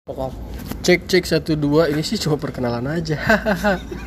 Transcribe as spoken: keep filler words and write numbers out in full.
Pokok cek cek satu dua ini sih cuma perkenalan aja.